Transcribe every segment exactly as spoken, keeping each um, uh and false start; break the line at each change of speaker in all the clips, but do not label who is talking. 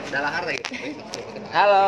Dalahar lagi.
Halo.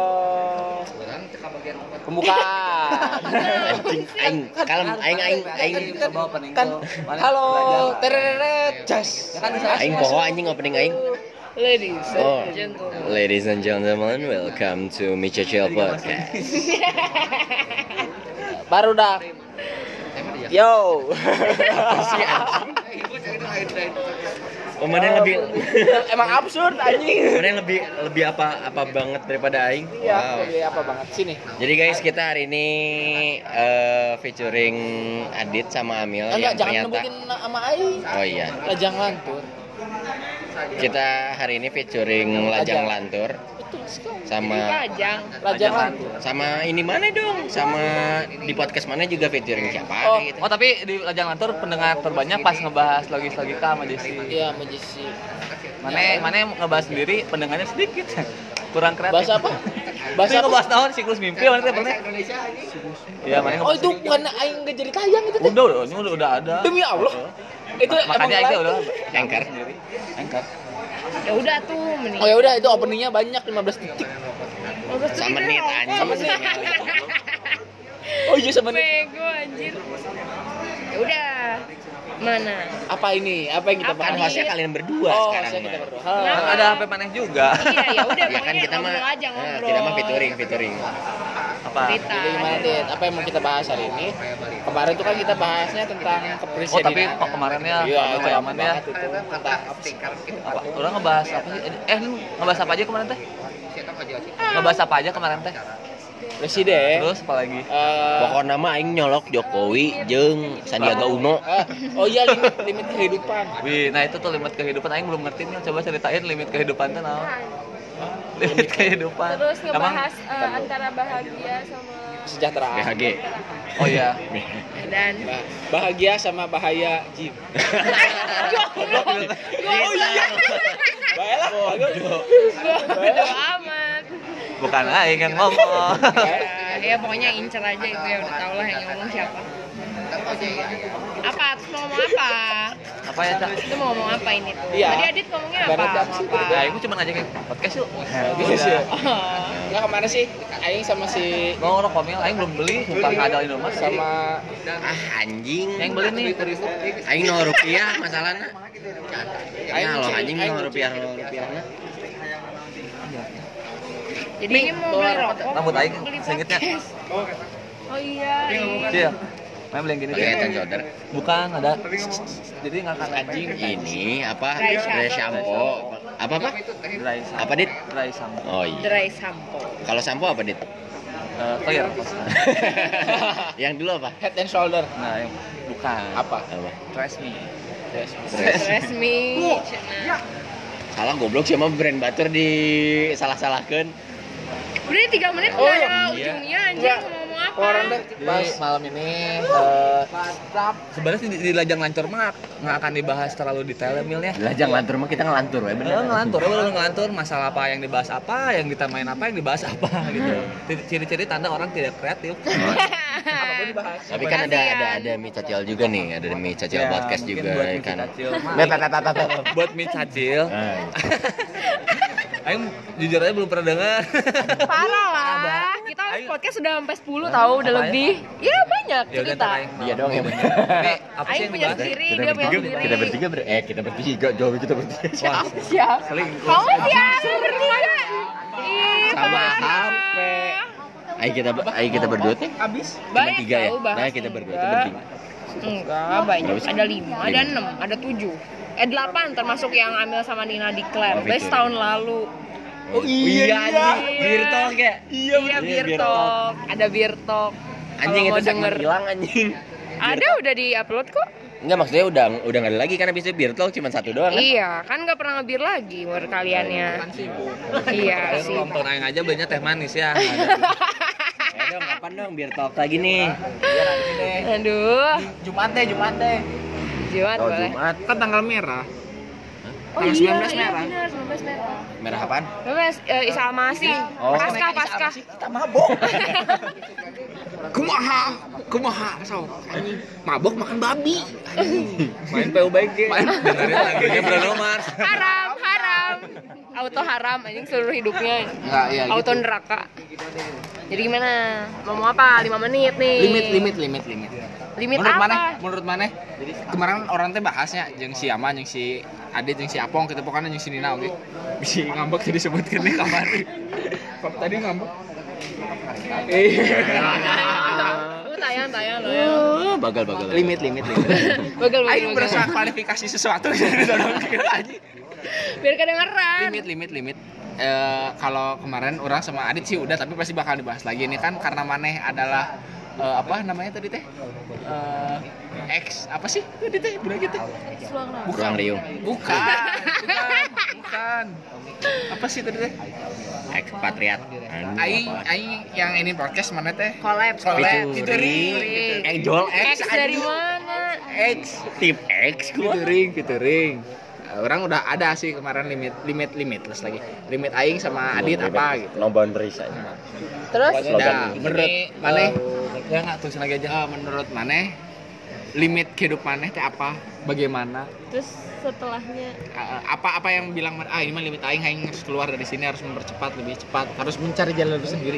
Pembukaan.
Anjing aing kalem aing aing aing
Kan halo tereret jas.
aing poho anjing opening aing.
Ladies
Oh,
and gentlemen.
ladies and gentlemen, welcome to Micha Chill Podcast.
Baru dah. Yo.
Oh, mana yang lebih
Emang absurd anjing.
mana yang lebih lebih apa apa banget daripada aing?
Iya, lebih apa banget sini.
Jadi guys, kita hari ini eh, featuring Adit sama Amil
Enggak,
yang
jangan
ternyata
nyebutin nama aing.
Oh iya.
Lajang lantur.
Kita hari ini featuring Lajang Lantur
Betul sekali.
sama
Lajang.
Lajang lantur.
sama ini mana dong? Sama di podcast mana juga featuring siapa
Oh,
gitu.
oh tapi di Lajang Lantur pendengar terbanyak pas ngebahas logis-logika sama Desi.
Iya, majisi.
Mana mana yang ngebahas sendiri pendengarnya sedikit. Kurang kreatif.
Bahasa apa? Bahasa
Bahasa
apa?
ngebahas naon siklus mimpi mana teh pernah? Iya, mana
Oh,
ngebahas
itu
sedikit.
bukan aing enggak jadi tayang itu teh.
Udah, udah, ini udah, udah ada.
Demi Allah. Itu emang
Makanya aja
live.
udah
Anchor.
sendiri. Anchor.
Ya udah tuh mending.
Oh ya udah, itu openingnya banyak lima belas detik.
Sama menit anjing.
Oh iya sama nih.
Bego anjir. Ya udah. Mana?
Apa ini? Apa yang kita
Apa
Kan
bahas?
hostnya kalian berdua
Oh,
sekarang
saya
mah.
kita berdua.
Kenapa?
Ha.
Ada H P maneh juga.
Iya, ya udah
Ya kan
pokoknya
kita mah
ngobrol aja
nah,
ngobrol.
kita mah featuring featuring.
Apa?
Cerita.
Jadi gimana Dit? Apa yang mau kita bahas hari ini? Kemarin tuh kan kita bahasnya tentang
Oh,
kepresidenan.
tapi kok kemarinnya
Iya,
rame
itu
layaman ya.
banget itu tentang apa sih?
Apa? Orang ngebahas apa sih? Eh, lu ngebahas apa aja kemarin teh? Ngebahas apa aja kemarin teh?
Presiden.
Terus apa lagi?
Eh,
Pokoknya mah aing nyolok Jokowi jeung Sandiaga Uno.
eh, oh iya limit limit kehidupan.
Wih, nah itu tuh limit kehidupan. Aing belum ngerti nih. Coba ceritain limit kehidupan tuh naon? Limit kehidupan.
Terus
Emang?
ngebahas eh, antara bahagia sama
Sejahtera.
B H G.
Oh iya.
Dan
Bah- bahagia sama bahaya jin.
oh iya.
Baiklah, bagus.
Bodo amat.
Bukan aing yang ngomong.
Ya pokoknya incer aja itu ya udah tau lah yang ngomong siapa. Apa? Terus mau ngomong apa?
Apa ya, Cak?
Itu mau ngomong apa ini tuh?
Iya.
Tadi Adit ngomongnya apa?
Ibaratnya apa
Mau
sih?
apa?
Ya, aing cuma ngajakin podcast yuk.
Gitu sih.
Oh.
Enggak kemana sih? Aing sama si
Mau rokok mil, aing belum beli, sumpah enggak ada Indomaret
sama
Ah anjing.
yang beli nih.
Aing nol rupiah masalahnya.
Aing
Aing lo
cek,
anjing
aing
nol
cek.
rupiah nol rupiahnya.
Jadi ini mau beli rokok.
Rambut aing
beli
singkatnya.
podcast. Oh iya.
Iya. Main beli yang gini.
Pakai head and shoulder.
Bukan, ada. Jadi ngangkat
Anjing ini apa?
Dry shampoo.
Dry shampoo. Apa apa?
dry shampoo.
Apa dit?
Dry shampoo.
Oh iya.
Dry shampoo.
Kalau shampoo apa dit?
Eh, clear.
Yang dulu apa?
head and shoulder.
Nah, yang bukan.
Apa?
Apa?
Trust me.
Resmi.
Salah goblok sih sama brand butter di salah-salahkeun.
Udah tiga menit
Oh,
nggak
iya.
ada ujungnya anjing
Enggak.
mau ngomong apa?
Orang teh
Jadi
pas
malam ini eh, sebenarnya sih di, di Lajang Lantur mah nggak akan dibahas terlalu detail ya, Mil ya.
Lajang lantur mah kita ngelantur we
Eh, ngelantur, ya bener ngelantur masalah apa yang dibahas apa, yang kita main apa, yang dibahas apa gitu. Ciri-ciri tanda orang tidak kreatif.
apapun dibahas.
Tapi kan ada ada ada mie cacil juga nih, ada mie cacil
Ya,
podcast
mungkin
juga
buat
ya
mie
kan.
cacil mah.
Bep, bep, bep, bep, bep.
Buat mie cacil.
Ah,
Aing jujur aja belum pernah dengar.
Parah lah. Kita
Ayo.
podcast sudah sampai sepuluh tahu udah
Apa ya?
lebih. Ya banyak
Ya udah
cerita.
ntar Aing.
Dia doang yang bener.
Ini apa sih
Aing
yang
punya
dibahas?
sendiri,
Kita
dia punya
bertiga,
sendiri.
kita bertiga ber eh kita bertiga, jauh kita bertiga.
Wah,
Siap.
selingkuh.
Kamu siapa bertiga? Ih,
Sama
parah.
H P. Ayo kita ayo kita berdua tuh.
Habis.
Cuma
Banyak
tiga ya.
tahu bahas.
Nah, kita berdua tuh
Enggak.
bertiga.
Enggak, banyak.
Nggak bisa.
Ada lima, ada
Lima.
enam, ada tujuh. Eh delapan termasuk yang Amil sama Nina declare.
Oh,
Dari
betul.
tahun lalu.
Oh iya, anjing.
Iya.
Bir talk ya?
Iya, beer talk. Ada beer talk.
Anjing
Kalau
itu
mau
segmen
denger.
hilang anjing.
Ada udah di-upload kok.
Enggak, maksudnya udah udah enggak ada lagi kan habis itu bir talk cuma satu doang kan?
Iya, kan nggak pernah ngebir lagi buat kaliannya. Iya
Aing
sih.
nonton aing aja belinya teh manis ya.
Ya dong, kapan dong bir talk lagi nih?
Aduh,
Jumat deh, Jumat deh.
Jumat
Oh,
boleh.
Jumat.
Kan tanggal merah.
Oh
Tanggal
iya,
sembilan belas
iya
merah.
benar, sembilan belas merah.
Merah apaan?
Bebas, eh, Isa masih.
Oh.
Pasca, pasca.
Kita mabok. Kumaha? Kumaha? So, anjing. Mabok makan babi.
Main P U B G. Main dengerin lagunya Bruno Mars.
Haram, haram. auto haram anjing seluruh hidupnya.
Enggak, iya
Auto
gitu.
neraka. Jadi gimana? Mau mau apa? lima menit nih.
Limit limit limit limit.
Limit
menurut
apa?
mana? Menurut mana? Kemarin orang teh bahasnya jeung si Ama, jeung si Adit, jeung si Apong, kita pokoknya jeung si Nina oke. Bisi ngambek tadi disebutkeun nih kamari. Kok tadi ngambek? Eh.
Lu tayang tayang lo ya.
Oh, bagal bagal.
Limit limit limit.
Bagel bagel.
Aing berasa klarifikasi sesuatu aja.
Biar kedengeran.
Limit limit limit. Eh, kalau kemarin orang sama Adit sih udah, tapi pasti bakal dibahas lagi. Ini kan karena maneh adalah eh, apa namanya tadi teh? Eh, X apa sih tadi teh? Bilang gitu.
Ruang Riung.
Bukan, bukan, bukan. Apa sih tadi teh?
Ekspatriat.
Aing, aing yang ini podcast mana teh?
Collab.
Collab, featuring,
Featuring.
Angel
X
X
dari
anjing.
mana?
X,
Tim X gua.
featuring, featuring. Uh, Orang udah ada sih kemarin limit, limit, limitless lagi. Limit aing sama Adit apa gitu.
No boundaries aja.
Terus
Nah, menurut maneh,
Ya nggak tulisin lagi aja.
eh, menurut maneh limit kehidupan maneh teh apa? Bagaimana?
Terus setelahnya
Uh, apa apa yang bilang ah ini mah limit aing, aing harus keluar dari sini, harus mempercepat lebih cepat, harus mencari jalan lebih sendiri.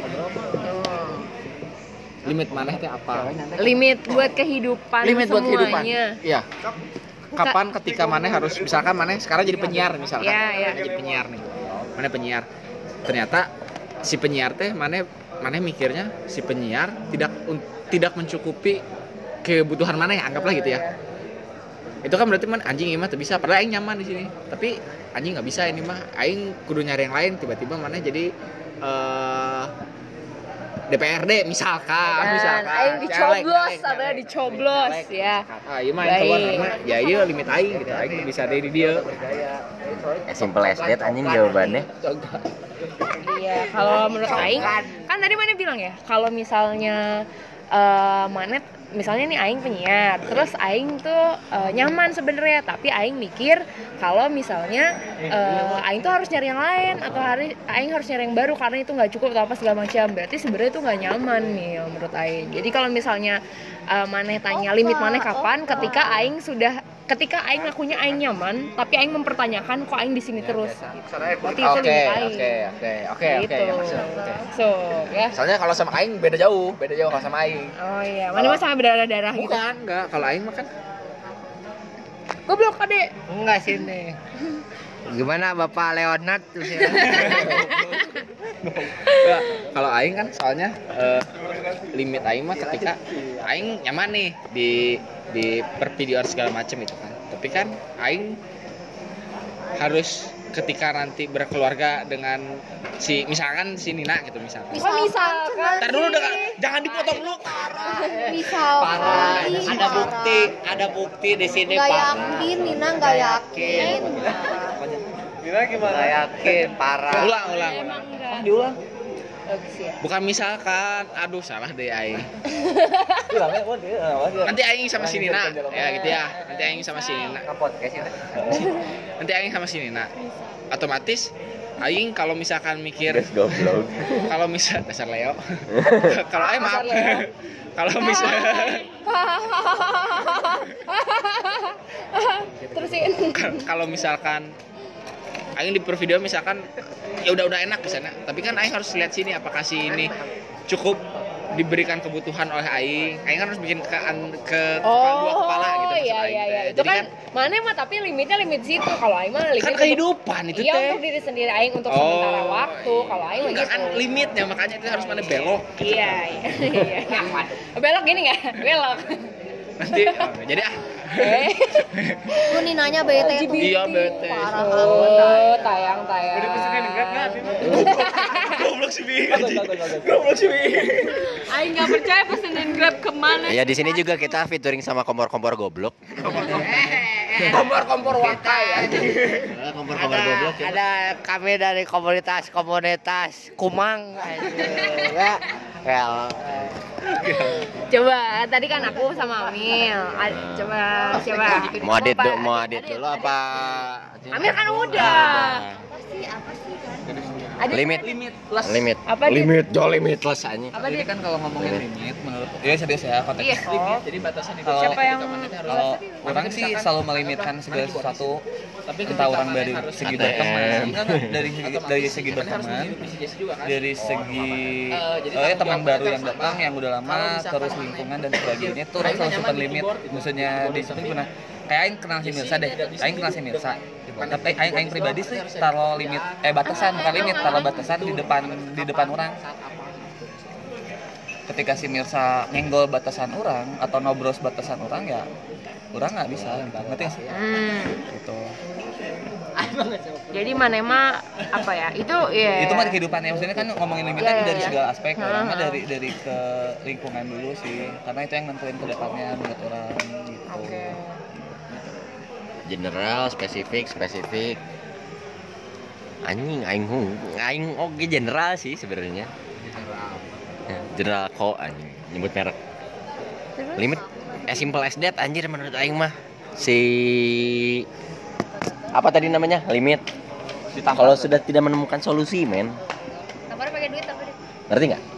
Limit maneh teh apa?
limit buat kehidupan
Limit buat kehidupan.
semuanya.
Iya. Kapan ketika maneh harus misalkan maneh sekarang jadi penyiar misalkan.
Iya, iya.
Maneh jadi penyiar nih. Maneh penyiar. Ternyata si penyiar teh maneh maneh mikirnya si penyiar tidak un- tidak mencukupi kebutuhan maneh, anggaplah gitu ya. Itu kan berarti man anjing ini mah tuh bisa, padahal aing nyaman di sini. Tapi anjing nggak bisa ini mah. Aing kudu nyari yang lain, tiba-tiba maneh jadi eh D P R D misalkan,
Dan
misalkan.
aing dicoblos,
Caleg,
ada
caleg,
dicoblos
caleg.
ya.
Ah, iya mah yang keluar
Baik.
mah ya iya limit aing gitu. Aing bisa dari dia.
Simple as that anjing jawabannya.
Iya, kalau menurut aing kan tadi mana bilang ya, kalau misalnya eh Manet misalnya nih aing penyiar, terus aing tuh eh, nyaman sebenarnya, tapi aing mikir kalau misalnya eh, aing tuh harus nyari yang lain atau hari aing harus nyari yang baru karena itu nggak cukup atau apa segala macam, berarti sebenarnya itu nggak nyaman nih ya, menurut aing. Jadi kalau misalnya eh, maneh tanya limit maneh kapan, ketika aing sudah ketika aing ngakunya aing nyaman, tapi aing mempertanyakan kok aing di sini terus. Berarti itu
Oke,
limit aing.
oke, oke, oke, oke,
Gitu.
ya maksud. Oke.
So, ya.
Soalnya kalau sama aing beda jauh, beda jauh kalau sama aing.
Oh iya, mana mah sama berdarah-darah gitu.
Bukan, enggak. Kalau aing mah kan
Goblok Ade.
Enggak sini. Gimana Bapak Leonard terus ya?
enggak. Kalau aing kan soalnya eh, limit aing mah ketika aing nyaman nih di di pervideoan segala macam itu kan. Tapi kan aing harus ketika nanti berkeluarga dengan si misalkan si Nina gitu misalkan.
Kok misalkan
Ntar dulu dengan, jangan dipotong dulu.
Misalkan
Ada bukti, ada bukti di sini
nggak
Pak.
yakin, Nina nggak yakin.
Nggak yakin, parah.
Ulang, ulang, ulang.
Diulang.
bagus ya.
Bukan misalkan, aduh salah deh aing. Nanti aing sama si Nina, ya gitu ya. Nanti aing sama si Nina.
Podcast ya.
Nanti aing sama si Nina. Otomatis aing kalau misalkan mikir
Goblok.
kalau misal dasar Leo. Kalau aing maaf. Kalau misal
Terusin.
kalau misalkan aing di per video misalkan ya udah udah enak di sana, tapi kan aing harus lihat sini apakah si ini cukup diberikan kebutuhan oleh aing. Aing kan harus bikin ke ke kepala, dua kepala gitu maksud
iya
aing
iya
teh.
iya. Itu
Jadi
kan mana mah tapi limitnya limit situ. Kalau aing mah limit
kan
untuk-
kehidupan itu
Iya,
teh.
untuk diri sendiri aing untuk
Oh.
sementara waktu. Kalau aing mah
Enggak
gitu.
kan limitnya, makanya itu harus mana belok.
Iya, iya. iya. Belok gini enggak? Belok.
Nanti oh, jadi ah.
Eh.
Lu Ninanya bete tuh.
Iya bete.
Parah
Oh, tayang-tayang.
Goblok sih Bi. Goblok sih Bi.
Aing nggak percaya pesenin Grab kemana.
Ya di sini juga kita featuring sama kompor-kompor goblok.
Kompor-kompor wakai ya.
Kompor-kompor goblok.
Ada kami dari komunitas-komunitas Kumang ya. Well,
Coba, tadi kan aku sama Amil. A- Coba siapa?
Mau adit
Apa?
dulu, mau adit dulu apa?
Amil kan udah. Ada
Limit.
limitless.
Limit.
Apa dia?
limit, jauh limitless aja.
Apa
Jadi
dia?
kan kalau ngomongin limit menurut ya serius ya konteks
Iya,
limit.
kok.
Jadi batasan hidup
Kalau-
Siapa yang
Kalau orang sih selalu melimitkan segala sesuatu, entah orang dari segi berteman, enggak, enggak, dari segi dari segi berteman, dari segi oh ya teman baru yang datang yang udah lama, terus lingkungan dan sebagainya itu orang selalu simpan limit. Maksudnya di situ gimana? Kayak Aing kenal si Mirsa deh, Aing kenal si Mirsa. Tapi Aing Aing pribadi sih taruh limit, eh batasan bukan limit, taruh batasan di depan di depan orang. Ketika si Mirsa nyenggol batasan orang atau nobros batasan orang ya orang nggak bisa gitu. Ngerti nggak sih?
Hmm.
Gitu.
Jadi mana mah apa ya? Itu ya.
Itu mah kehidupannya, maksudnya kan ngomongin limitnya
Iya, iya,
dari
iya.
segala aspek.
Hmm.
Orang mah dari dari ke lingkungan dulu sih, karena itu yang nentuin ke depannya menurut orang gitu.
Oke.
General, spesifik, spesifik. Anjing, aing hung, aing oke general sih sebenarnya. Ya, general kok anjing, nyebut merek.
Terus?
Limit as simple as that anjir menurut aing mah. Si apa tadi namanya? Limit. Kalau sudah tidak menemukan solusi, men.
Tampaknya pakai duit apa deh?
Ngerti nggak?